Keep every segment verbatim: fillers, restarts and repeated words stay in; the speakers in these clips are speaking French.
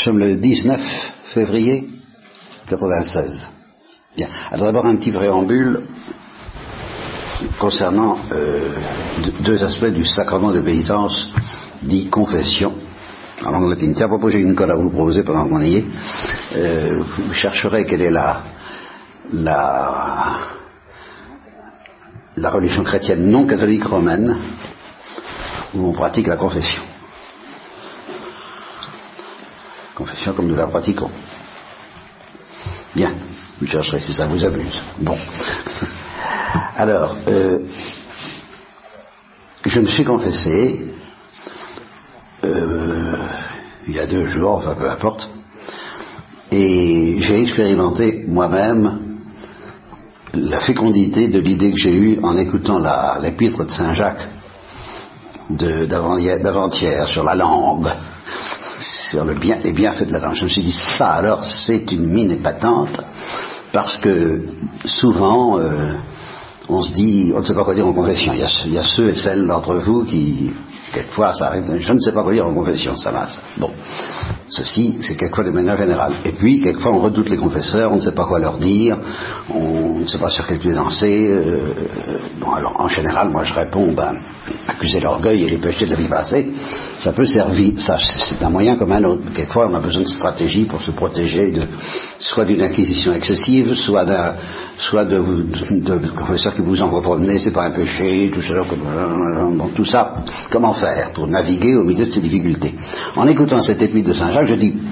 sommes le dix-neuf février quatre-vingt-seize. Bien. Alors d'abord un petit préambule concernant euh, deux aspects du sacrement de pénitence dit confession en langue latine. Tiens, à propos, j'ai une colle à vous proposer pendant qu'on y est. Euh, vous chercherez quelle est la la la religion chrétienne non catholique romaine où on pratique la confession. Confession comme nous la pratiquons. Bien, vous chercherez si ça vous amuse. Bon. Alors, euh, je me suis confessé euh, il y a deux jours, enfin peu importe, et j'ai expérimenté moi-même la fécondité de l'idée que j'ai eue en écoutant la, l'épître de Saint Jacques de, d'avant-hier sur la langue, sur le bien, les bienfaits de la langue. Je me suis dit, ça alors c'est une mine épatante, parce que souvent euh, on se dit, on ne sait pas quoi dire en confession. Il y a, il y a ceux et celles d'entre vous qui, quelquefois, ça arrive, je ne sais pas quoi dire en confession, ça va. Ça. Bon, ceci, c'est quelquefois de manière générale. Et puis, quelquefois, on redoute les confesseurs, on ne sait pas quoi leur dire, on ne sait pas sur quel pied danser. Euh, bon, alors, en général, moi, je réponds, ben, accuser l'orgueil et les péchés de la vie passée, ça peut servir, ça, c'est un moyen comme un autre. Quelquefois, on a besoin de stratégie pour se protéger de, soit d'une acquisition excessive, soit d'un, soit de, de, de confesseurs qui vous envoient promener, c'est pas un péché, tout ça, comme, bon, tout ça, comment faire pour naviguer au milieu de ces difficultés. En écoutant cette épître de Saint Jacques, je dis,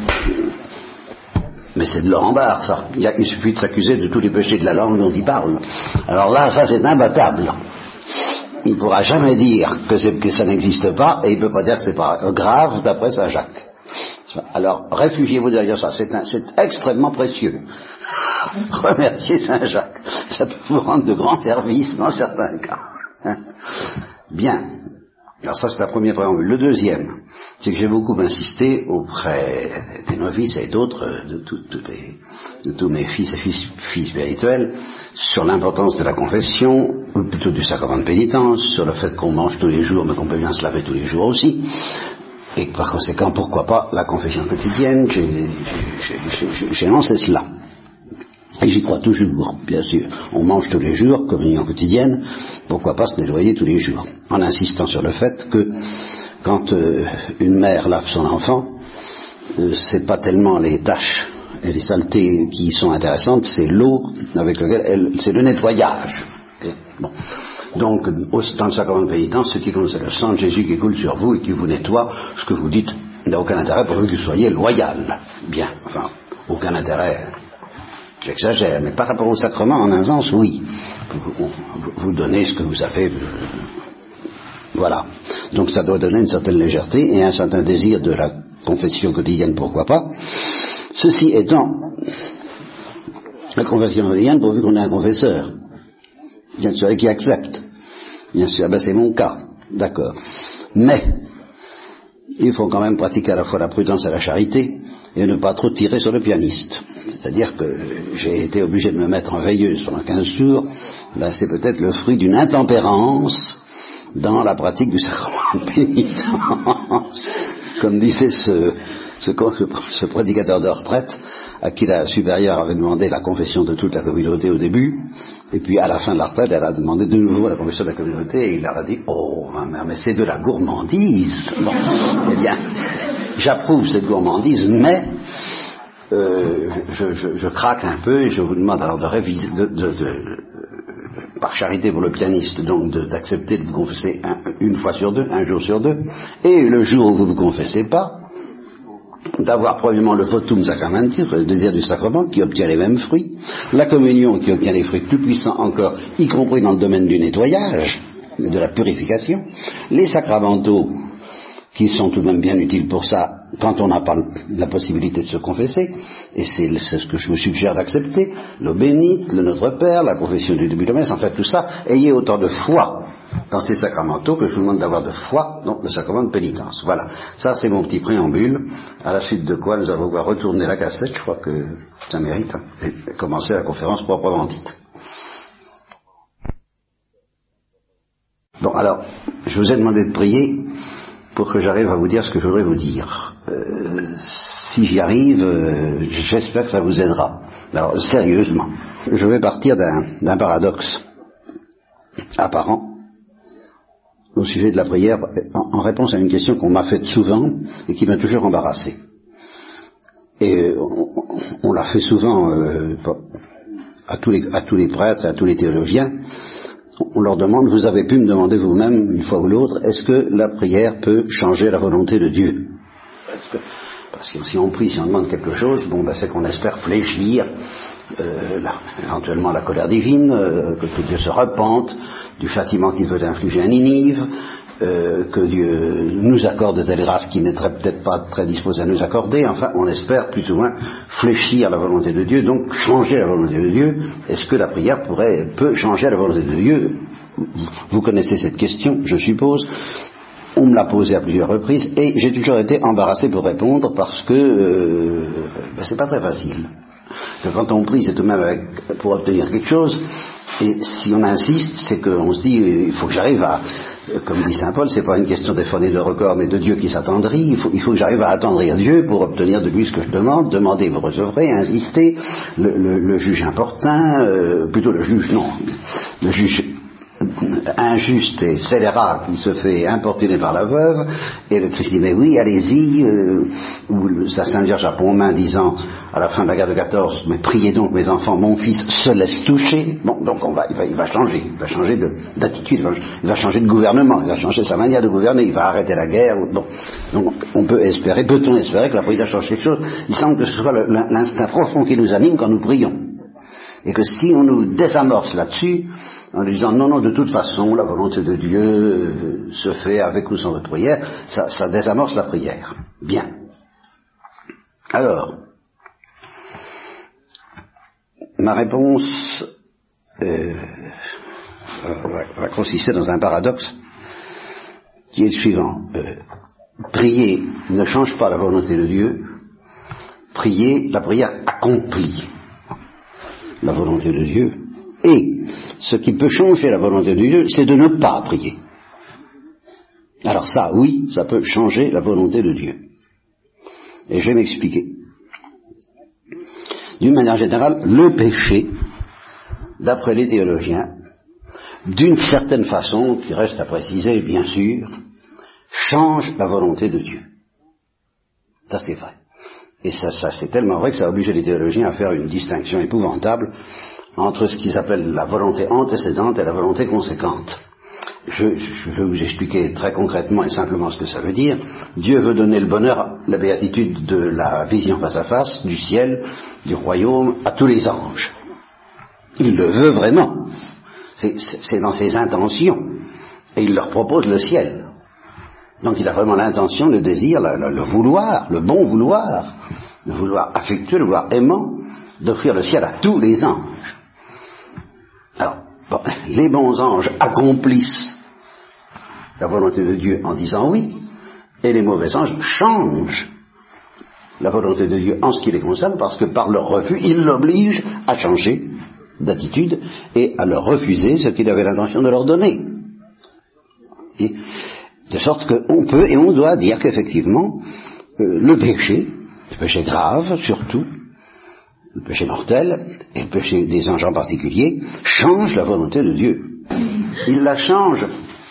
mais c'est de Laurent Barre, ça. Il, a, il suffit de s'accuser de tous les péchés de la langue dont il parle. Alors là, ça c'est imbattable. Il ne pourra jamais dire que, c'est, que ça n'existe pas, et il ne peut pas dire que c'est pas grave d'après Saint Jacques. Alors, réfugiez-vous derrière ça, c'est, un, c'est extrêmement précieux. Remerciez Saint Jacques, ça peut vous rendre de grands services dans certains cas. Hein? Bien. Alors ça, c'est la première préambule. Le deuxième, c'est que j'ai beaucoup insisté auprès des novices et d'autres, de, tout, de, de tous mes fils et filles, filles spirituels, sur l'importance de la confession, ou plutôt du sacrement de pénitence, sur le fait qu'on mange tous les jours, mais qu'on peut bien se laver tous les jours aussi, et par conséquent, pourquoi pas la confession quotidienne. J'ai, j'ai, j'ai, j'ai, j'ai lancé cela. Et j'y crois toujours, bien sûr. On mange tous les jours, communion quotidienne, pourquoi pas se nettoyer tous les jours, en insistant sur le fait que quand euh, une mère lave son enfant, euh, c'est pas tellement les taches et les saletés qui sont intéressantes, c'est l'eau avec laquelle elle, c'est le nettoyage. Okay. Bon. Donc, dans le sacrement de pénitence, ce qui compte, c'est le sang de Jésus qui coule sur vous et qui vous nettoie. Ce que vous dites n'a aucun intérêt pour que vous soyez loyal. Bien, enfin, aucun intérêt. J'exagère, mais par rapport au sacrement, en un sens, oui. Vous, vous, vous donnez ce que vous avez. Euh, voilà. Donc ça doit donner une certaine légèreté et un certain désir de la confession quotidienne, pourquoi pas. Ceci étant, la confession quotidienne, pourvu qu'on ait un confesseur, bien sûr, et qui accepte. Bien sûr, ben c'est mon cas, d'accord. Mais, il faut quand même pratiquer à la fois la prudence et la charité, et ne pas trop tirer sur le pianiste. C'est-à-dire que j'ai été obligé de me mettre en veilleuse pendant quinze jours, ben c'est peut-être le fruit d'une intempérance dans la pratique du sacrement de pénitence. Comme disait ce, ce, ce prédicateur de retraite, à qui la supérieure avait demandé la confession de toute la communauté au début, et puis à la fin de la retraite, elle a demandé de nouveau la confession de la communauté, et il leur a dit, oh, ma mère, mais c'est de la gourmandise. Bon, eh bien, j'approuve cette gourmandise, mais euh, je, je, je craque un peu, et je vous demande alors de réviser, de, de, de, de, par charité pour le pianiste, donc de, d'accepter de vous confesser un, une fois sur deux, un jour sur deux, et le jour où vous ne vous confessez pas, d'avoir probablement le votum sacramentis, le désir du sacrement, qui obtient les mêmes fruits, la communion qui obtient des fruits plus puissants encore, y compris dans le domaine du nettoyage, de la purification, les sacramentaux, qui sont tout de même bien utiles pour ça, quand on n'a pas la possibilité de se confesser, et c'est, c'est ce que je vous suggère d'accepter, l'eau bénite, le Notre Père, la confession du début de messe, en fait tout ça, ayez autant de foi dans ces sacramentaux que je vous demande d'avoir de foi dans le sacrement de pénitence. Voilà, ça c'est mon petit préambule, à la suite de quoi nous allons voir retourner la cassette, je crois que ça mérite, hein, et commencer la conférence proprement dite. Bon, alors, je vous ai demandé de prier pour que j'arrive à vous dire ce que je voudrais vous dire. Euh, si j'y arrive, euh, j'espère que ça vous aidera. Alors, sérieusement, je vais partir d'un, d'un paradoxe apparent au sujet de la prière, en, en réponse à une question qu'on m'a faite souvent et qui m'a toujours embarrassé. Et on, on l'a fait souvent euh, à, tous les, à tous les prêtres et à tous les théologiens. On leur demande, vous avez pu me demander vous-même, une fois ou l'autre, est-ce que la prière peut changer la volonté de Dieu? Parce que, parce que si on prie, si on demande quelque chose, bon, ben, c'est qu'on espère fléchir euh, la, éventuellement la colère divine, euh, que, que Dieu se repente du châtiment qu'il veut infliger à Ninive, euh, que Dieu nous accorde de telles grâces qu'il n'est peut-être pas très disposé à nous accorder. Enfin, on espère plus ou moins fléchir la volonté de Dieu, donc changer la volonté de Dieu. Est-ce que la prière pourrait, peut changer la volonté de Dieu? Vous connaissez cette question, je suppose. On me l'a posée à plusieurs reprises et j'ai toujours été embarrassé pour répondre parce que euh, ben c'est pas très facile. Que quand on prie, c'est tout de même avec, pour obtenir quelque chose. Et si on insiste, c'est qu'on se dit, il faut que j'arrive à, comme dit saint Paul, c'est pas une question d'effronter de record, mais de Dieu qui s'attendrit. Il faut, il faut que j'arrive à attendrir Dieu pour obtenir de lui ce que je demande. Demandez, vous recevrez, insister. Le, le, le juge importun, euh, plutôt le juge, non, le juge injuste et scélérat qui se fait importuner par la veuve, et le Christ dit mais oui, allez-y, euh, ou sa Sainte Vierge a Pontmain disant à la fin de la guerre de quatorze, mais priez donc mes enfants, mon fils se laisse toucher. Bon, donc on va, il va, il va changer, il va changer de, d'attitude, il va, il va changer de gouvernement, il va changer sa manière de gouverner, il va arrêter la guerre. Bon, donc on peut espérer, peut-on espérer que la prière change quelque chose? Il semble que ce soit le, l'instinct profond qui nous anime quand nous prions, et que si on nous désamorce là-dessus, en disant non, non, de toute façon, la volonté de Dieu euh, se fait avec ou sans votre prière, ça, ça désamorce la prière. Bien. Alors, ma réponse euh, va, va consister dans un paradoxe qui est le suivant. Euh, prier ne change pas la volonté de Dieu, prier, la prière accomplit la volonté de Dieu. Et ce qui peut changer la volonté de Dieu, c'est de ne pas prier. Alors ça, oui, ça peut changer la volonté de Dieu. Et je vais m'expliquer. D'une manière générale, le péché, d'après les théologiens, d'une certaine façon, qui reste à préciser, bien sûr, change la volonté de Dieu. Ça, c'est vrai. Et ça, ça c'est tellement vrai que ça a obligé les théologiens à faire une distinction épouvantable entre ce qu'ils appellent la volonté antécédente et la volonté conséquente. Je, je, je vais vous expliquer très concrètement et simplement ce que ça veut dire. Dieu veut donner le bonheur, la béatitude de la vision face à face, du ciel, du royaume, à tous les anges. Il le veut vraiment. C'est, c'est dans ses intentions. Et il leur propose le ciel. Donc il a vraiment l'intention, le désir, le, le, le vouloir, le bon vouloir, le vouloir affectueux, le vouloir aimant, d'offrir le ciel à tous les anges. Alors, bon, les bons anges accomplissent la volonté de Dieu en disant oui, et les mauvais anges changent la volonté de Dieu en ce qui les concerne, parce que par leur refus, ils l'obligent à changer d'attitude et à leur refuser ce qu'il avait l'intention de leur donner. Et, de sorte qu'on peut et on doit dire qu'effectivement, euh, le péché, le péché grave surtout, le péché mortel, et le péché des anges en particulier, change la volonté de Dieu. Il la change,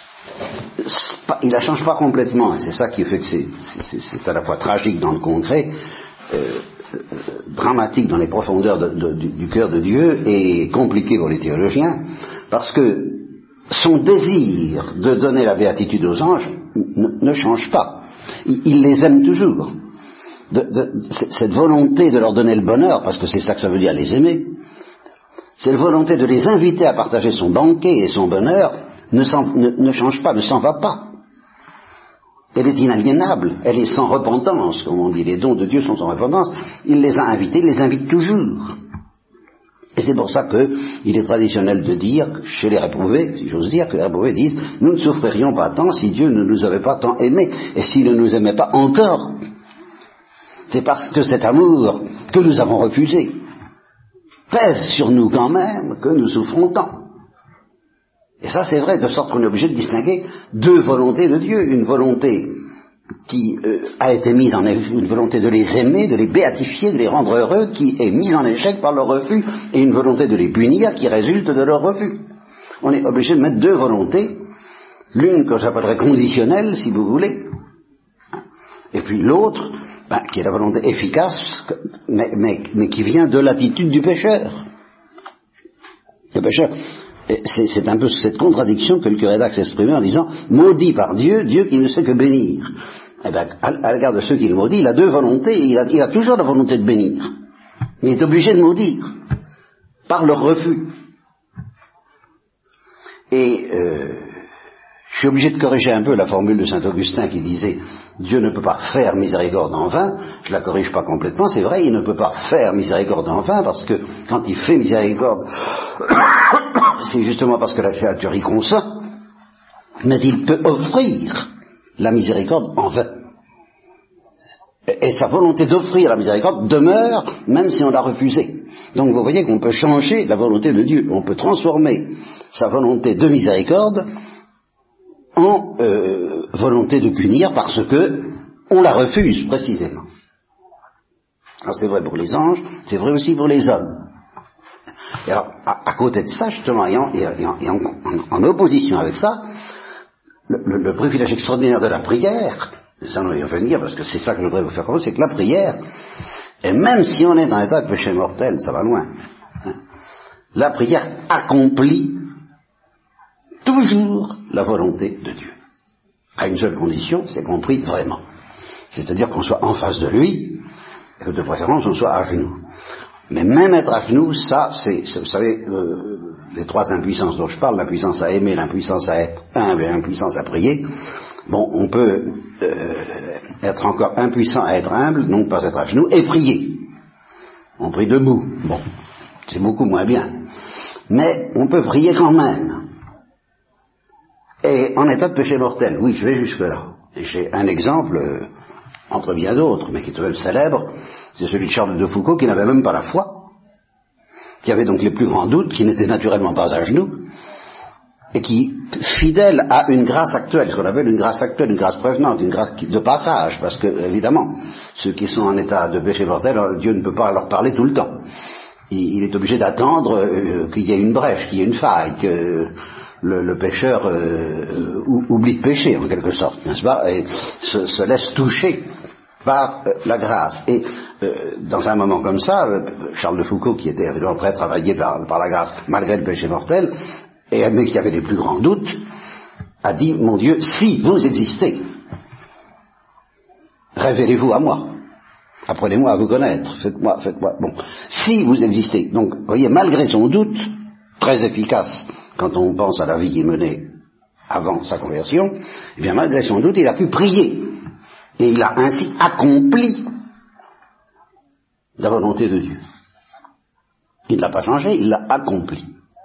il la change pas complètement, et c'est ça qui fait que c'est, c'est, c'est à la fois tragique dans le concret, euh, dramatique dans les profondeurs de, de, du, du cœur de Dieu, et compliqué pour les théologiens, parce que son désir de donner la béatitude aux anges ne, ne change pas. Il, il les aime toujours. De, de, cette volonté de leur donner le bonheur, parce que c'est ça que ça veut dire les aimer, cette volonté de les inviter à partager son banquet et son bonheur ne, ne, ne change pas, ne s'en va pas. Elle est inaliénable, elle est sans repentance, comme on dit, les dons de Dieu sont sans repentance. Il les a invités, il les invite toujours. Et c'est pour ça qu'il est traditionnel de dire, chez les réprouvés, si j'ose dire, que les réprouvés disent, nous ne souffririons pas tant si Dieu ne nous avait pas tant aimés, et s'il ne nous aimait pas encore. C'est parce que cet amour que nous avons refusé pèse sur nous quand même que nous souffrons tant. Et ça c'est vrai, de sorte qu'on est obligé de distinguer deux volontés de Dieu. Une volonté qui euh, a été mise en une volonté de les aimer, de les béatifier, de les rendre heureux, qui est mise en échec par leur refus, et une volonté de les punir qui résulte de leur refus. On est obligé de mettre deux volontés, l'une que j'appellerais conditionnelle, si vous voulez, et puis l'autre, ben, qui est la volonté efficace, mais, mais, mais qui vient de l'attitude du pécheur. Le pécheur, c'est, c'est un peu cette contradiction que le curé d'Ax exprimait en disant « maudit par Dieu, Dieu qui ne sait que bénir ». Eh bien, à, à l'égard de ceux qui le maudit, il a deux volontés, il a, il a toujours la volonté de bénir, mais il est obligé de maudire, par leur refus. Et euh, je suis obligé de corriger un peu la formule de saint Augustin qui disait « Dieu ne peut pas faire miséricorde en vain », je la corrige pas complètement, c'est vrai, il ne peut pas faire miséricorde en vain, parce que quand il fait miséricorde, c'est justement parce que la créature y consent, mais il peut offrir la miséricorde en vain. Et sa volonté d'offrir la miséricorde demeure, même si on l'a refusée. Donc vous voyez qu'on peut changer la volonté de Dieu, on peut transformer sa volonté de miséricorde en euh, volonté de punir parce que on la refuse précisément. Alors c'est vrai pour les anges, c'est vrai aussi pour les hommes. Et alors, à, à côté de ça, justement, et, en, et, en, et en, en opposition avec ça, le, le, le privilège extraordinaire de la prière, ça on va y revenir parce que c'est ça que je voudrais vous faire comprendre, c'est que la prière, et même si on est dans l'état de péché mortel, ça va loin, hein, la prière accomplit toujours la volonté de Dieu. À une seule condition, c'est qu'on prie vraiment. C'est-à-dire qu'on soit en face de lui, et que de préférence on soit à genoux. Mais même être à genoux, ça, c'est, c'est vous savez, euh, les trois impuissances dont je parle, l'impuissance à aimer, l'impuissance à être humble et l'impuissance à prier, bon, on peut euh, être encore impuissant à être humble, donc pas être à genoux, et prier. On prie debout, bon, c'est beaucoup moins bien. Mais on peut prier quand même. Et en état de péché mortel, oui, je vais jusque-là. Et j'ai un exemple, euh, entre bien d'autres, mais qui est tout de même célèbre, c'est celui de Charles de Foucauld, qui n'avait même pas la foi, qui avait donc les plus grands doutes, qui n'était naturellement pas à genoux, et qui, fidèle à une grâce actuelle, ce qu'on appelle une grâce actuelle, une grâce prévenante, une grâce de passage, parce que, évidemment, ceux qui sont en état de péché mortel, Dieu ne peut pas leur parler tout le temps. Il, il est obligé d'attendre euh, qu'il y ait une brèche, qu'il y ait une faille, que le, le pécheur euh, oublie de pécher, en quelque sorte, n'est-ce pas, et se, se laisse toucher par euh, la grâce. Et euh, dans un moment comme ça, euh, Charles de Foucauld, qui était évidemment très travaillé par, par la grâce, malgré le péché mortel, et admet qu'il y avait les plus grands doutes, a dit, mon Dieu, si vous existez, révélez-vous à moi, apprenez-moi à vous connaître, faites-moi, faites-moi, bon, si vous existez. Donc, vous voyez, malgré son doute, très efficace, quand on pense à la vie qu'il menait avant sa conversion, eh bien, malgré son doute, il a pu prier, et il a ainsi accompli la volonté de Dieu. Il ne l'a pas changé, il l'a accompli.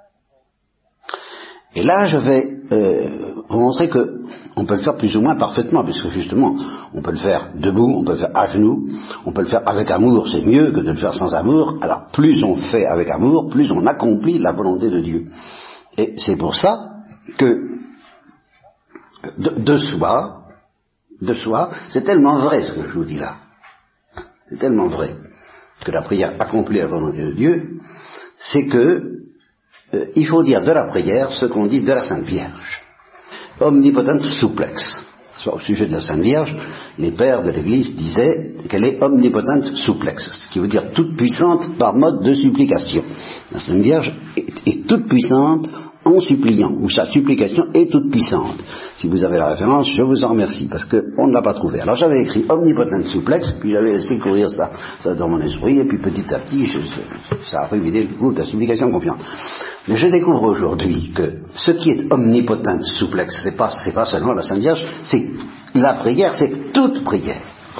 Et là, je vais euh, vous montrer que on peut le faire plus ou moins parfaitement, puisque justement, on peut le faire debout, on peut le faire à genoux, on peut le faire avec amour, c'est mieux que de le faire sans amour. Alors, plus on fait avec amour, plus on accomplit la volonté de Dieu. Et c'est pour ça que de, de soi, de soi, c'est tellement vrai ce que je vous dis là. C'est tellement vrai que la prière accomplit la volonté de Dieu, c'est que Euh, il faut dire de la prière ce qu'on dit de la Sainte Vierge. Omnipotent supplex. Soit au sujet de la Sainte Vierge, les pères de l'Église disaient qu'elle est omnipotent supplex, ce qui veut dire toute puissante par mode de supplication. La Sainte Vierge est, est toute puissante en suppliant, ou sa supplication est toute puissante. Si vous avez la référence, je vous en remercie, parce qu'on ne l'a pas trouvé. Alors j'avais écrit omnipotent supplex, puis j'avais laissé courir ça, ça dans mon esprit, et puis petit à petit, je, ça a révélé le goût de la supplication confiante. Mais je découvre aujourd'hui que ce qui est omnipotent supplex, c'est pas, c'est pas seulement la Sainte Vierge, c'est la prière, c'est toute prière.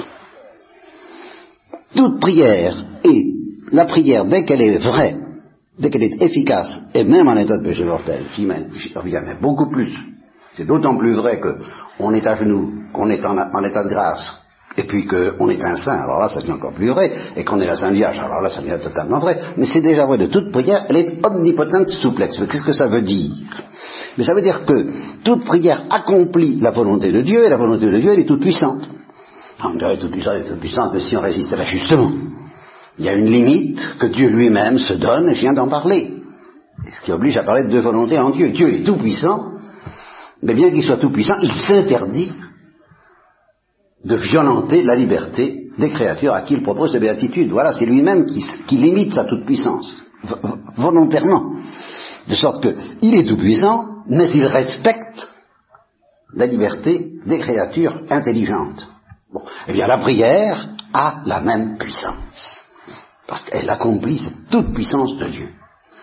Toute prière, et la prière, dès qu'elle est vraie, dès qu'elle est efficace, et même en état de péché mortel, j'y reviens même beaucoup plus. C'est d'autant plus vrai qu'on est à genoux, qu'on est en, en état de grâce, et puis qu'on est un saint, alors là ça devient encore plus vrai, et qu'on est la Sainte Vierge, alors là ça devient totalement vrai, mais c'est déjà vrai de toute prière, elle est omnipotente souplex. Qu'est-ce que ça veut dire? Mais ça veut dire que toute prière accomplit la volonté de Dieu, et la volonté de Dieu elle est toute puissante. On dirait toute puissante, elle est toute puissante, mais si on résiste à l'ajustement, il y a une limite que Dieu lui-même se donne, et je viens d'en parler, ce qui oblige à parler de deux volontés en Dieu. Dieu est tout puissant, mais bien qu'il soit tout puissant, il s'interdit de violenter la liberté des créatures à qui il propose de béatitude. Voilà, c'est lui-même qui, qui limite sa toute-puissance, volontairement. De sorte qu'il est tout-puissant, mais il respecte la liberté des créatures intelligentes. Bon, eh bien la prière a la même puissance, parce qu'elle accomplit cette toute-puissance de Dieu.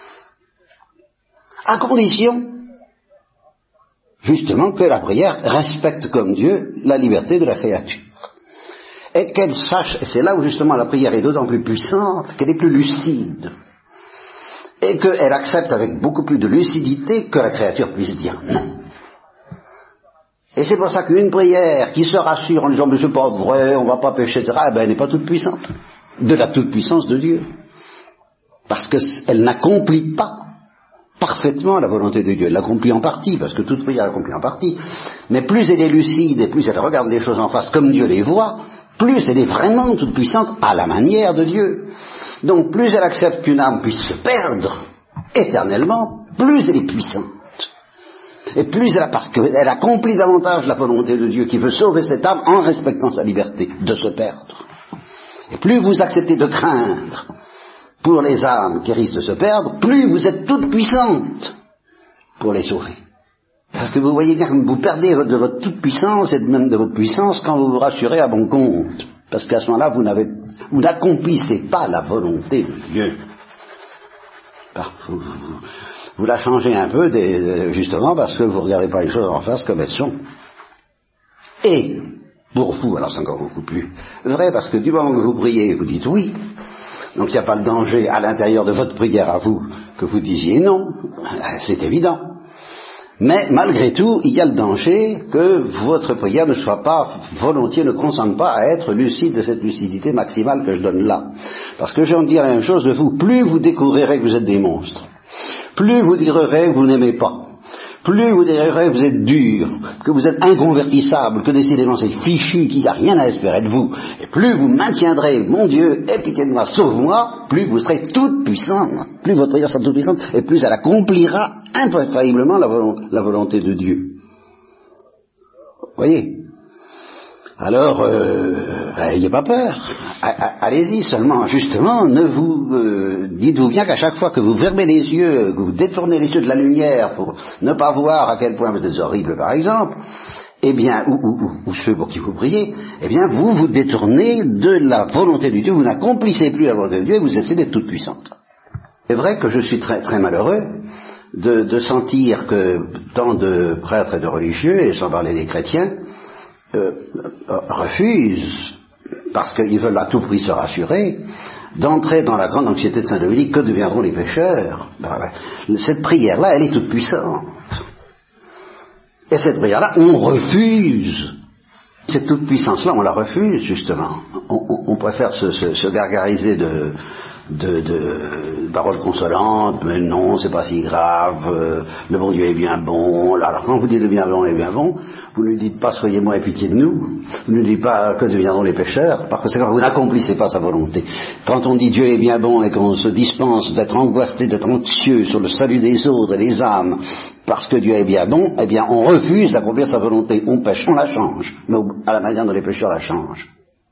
À condition, justement, que la prière respecte comme Dieu la liberté de la créature. Et qu'elle sache, et c'est là où justement la prière est d'autant plus puissante, qu'elle est plus lucide. Et qu'elle accepte avec beaucoup plus de lucidité que la créature puisse dire non. Et c'est pour ça qu'une prière qui se rassure en disant mais c'est pas vrai, on va pas pécher, et cetera, eh ben elle n'est pas toute puissante. De la toute puissance de Dieu. Parce qu'elle n'accomplit pas parfaitement la volonté de Dieu. Elle l'accomplit en partie, parce que toute prière l'accomplit en partie. Mais plus elle est lucide et plus elle regarde les choses en face comme Dieu les voit, plus elle est vraiment toute puissante à la manière de Dieu. Donc plus elle accepte qu'une âme puisse se perdre éternellement, plus elle est puissante. Et plus elle a, parce qu'elle accomplit davantage la volonté de Dieu qui veut sauver cette âme en respectant sa liberté de se perdre. Et plus vous acceptez de craindre pour les âmes qui risquent de se perdre, plus vous êtes toute puissante pour les sauver. Parce que vous voyez bien que vous perdez de votre toute puissance et même de votre puissance quand vous vous rassurez à bon compte. Parce qu'à ce moment-là, vous n'avez, vous n'accomplissez pas la volonté de Dieu. Vous, vous, vous la changez un peu, des, justement, parce que vous ne regardez pas les choses en face comme elles sont. Et, pour vous, alors c'est encore beaucoup plus vrai, parce que du moment que vous priez, vous dites oui, donc il n'y a pas de danger à l'intérieur de votre prière à vous que vous disiez non, c'est évident. Mais malgré tout, il y a le danger que votre prière ne soit pas volontiers, ne consente pas à être lucide de cette lucidité maximale que je donne là. Parce que je vais dire la même chose de vous, plus vous découvrirez que vous êtes des monstres, plus vous direz que vous n'aimez pas, plus vous direz que vous êtes dur, que vous êtes inconvertissable, que décidément c'est fichu, qu'il n'y a rien à espérer de vous, et plus vous maintiendrez, mon Dieu, aie pitié de moi, sauve-moi, plus vous serez toute puissante, plus votre prière sera toute puissante, et plus elle accomplira infailliblement la, volo- la volonté de Dieu. Vous voyez? Alors, n'ayez euh, pas peur, allez-y, seulement, justement, ne vous, euh, dites-vous bien qu'à chaque fois que vous fermez les yeux, que vous détournez les yeux de la lumière pour ne pas voir à quel point vous êtes horrible, par exemple, eh bien, ou, ou, ou, ou ceux pour qui vous priez, eh bien, vous vous détournez de la volonté de Dieu, vous n'accomplissez plus la volonté de Dieu et vous essayez d'être toute puissante. C'est vrai que je suis très, très malheureux de, de sentir que tant de prêtres et de religieux, et sans parler des chrétiens, Euh, refusent, parce qu'ils veulent à tout prix se rassurer, d'entrer dans la grande anxiété de Saint Dominique, que deviendront les pécheurs? Cette prière-là, elle est toute puissante. Et cette prière-là, on refuse. Cette toute puissance-là, on la refuse, justement. On, on, on préfère se, se, se gargariser de, de, de paroles consolantes, mais non, c'est pas si grave, euh, le bon Dieu est bien bon. Alors quand vous dites le bien bon est bien bon, vous ne dites pas soyez-moi et pitié de nous, vous ne dites pas que deviendront les pécheurs, parce que vous n'accomplissez pas sa volonté. Quand on dit Dieu est bien bon et qu'on se dispense d'être angoissé, d'être anxieux sur le salut des autres et des âmes, parce que Dieu est bien bon, eh bien on refuse d'accomplir sa volonté, on pêche, on la change, mais à la manière dont les pécheurs la changent.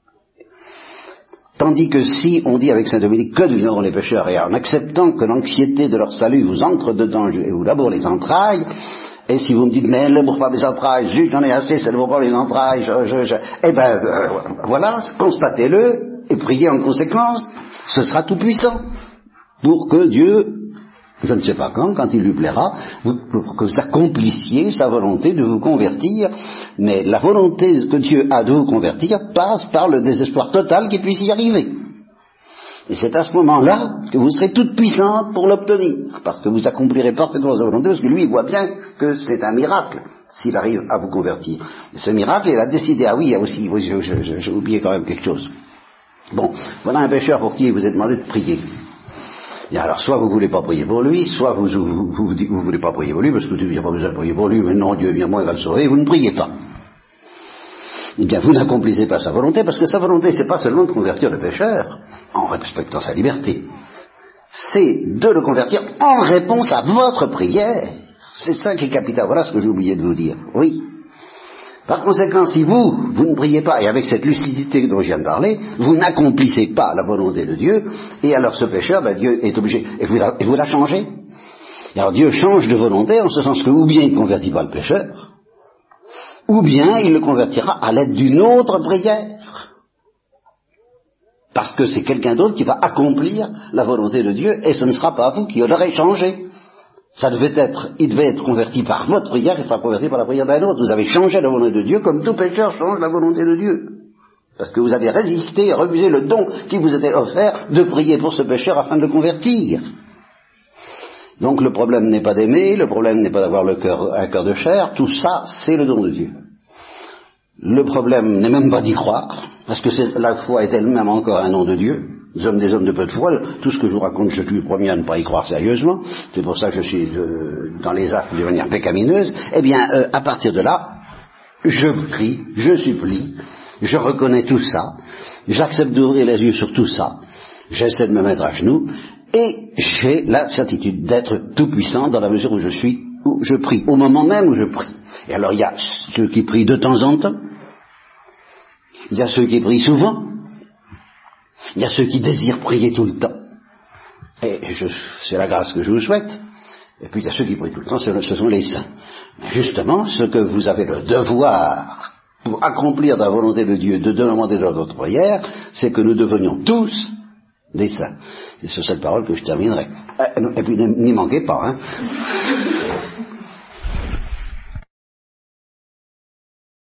Tandis que si on dit avec Saint Dominique que deviendront les pécheurs, et en acceptant que l'anxiété de leur salut vous entre dedans et vous laboure les entrailles, et si vous me dites mais elle ne laboure pas les entrailles, juste j'en ai assez, ça ne laboure pas les entrailles, je, je, je, eh ben euh, voilà, constatez-le et priez en conséquence, ce sera tout puissant pour que Dieu, je ne sais pas quand, quand il lui plaira, vous, pour que vous accomplissiez sa volonté de vous convertir, mais la volonté que Dieu a de vous convertir passe par le désespoir total qu'il puisse y arriver. Et c'est à ce moment-là que vous serez toute puissante pour l'obtenir, parce que vous accomplirez parfaitement sa volonté, parce que lui, il voit bien que c'est un miracle, s'il arrive à vous convertir. Et ce miracle, il a décidé, ah oui, il y a aussi, oui, je, je, je, j'ai oublié quand même quelque chose. Bon, voilà un pécheur pour qui il vous est demandé de prier. Et alors, soit vous ne voulez pas prier pour lui, soit vous ne vous, vous, vous, vous voulez pas prier pour lui, parce que tu n'as pas besoin de prier pour lui, mais non, Dieu, bien moi, il va le sauver, et vous ne priez pas. Eh bien, vous n'accomplissez pas sa volonté, parce que sa volonté, c'est pas seulement de convertir le pécheur, en respectant sa liberté, c'est de le convertir en réponse à votre prière. C'est ça qui est capital. Voilà ce que j'ai oublié de vous dire. Oui. Par conséquent, si vous, vous ne priez pas, et avec cette lucidité dont je viens de parler, vous n'accomplissez pas la volonté de Dieu, et alors ce pécheur, ben, Dieu est obligé, et vous, la, et vous la changez. Et alors Dieu change de volonté, en ce sens que, ou bien il ne convertit pas le pécheur, ou bien il le convertira à l'aide d'une autre prière. Parce que c'est quelqu'un d'autre qui va accomplir la volonté de Dieu, et ce ne sera pas vous qui l'aurez changé. Ça devait être, il devait être converti par votre prière, et sera converti par la prière d'un autre. Vous avez changé la volonté de Dieu, comme tout pécheur change la volonté de Dieu. Parce que vous avez résisté et refusé le don qui vous était offert de prier pour ce pécheur afin de le convertir. Donc le problème n'est pas d'aimer, le problème n'est pas d'avoir le cœur, un cœur de chair, tout ça, c'est le don de Dieu. Le problème n'est même pas d'y croire, parce que c'est, la foi est elle-même encore un nom de Dieu. Nous sommes des hommes de peu de foi, tout ce que je vous raconte, je suis le premier à ne pas y croire sérieusement, c'est pour ça que je suis euh, dans les actes de manière pécamineuse. Eh bien, euh, à partir de là, je prie, je supplie, je reconnais tout ça, j'accepte d'ouvrir les yeux sur tout ça, j'essaie de me mettre à genoux, et j'ai la certitude d'être tout puissant dans la mesure où je suis, où je prie, au moment même où je prie. Et alors il y a ceux qui prient de temps en temps, il y a ceux qui prient souvent, il y a ceux qui désirent prier tout le temps. Et je, c'est la grâce que je vous souhaite. Et puis il y a ceux qui prient tout le temps, ce sont les saints. Mais justement, ce que vous avez le devoir pour accomplir la volonté de Dieu, de demander dans notre prière, c'est que nous devenions tous des saints. C'est sur cette parole que je terminerai. Et puis n'y manquez pas, hein.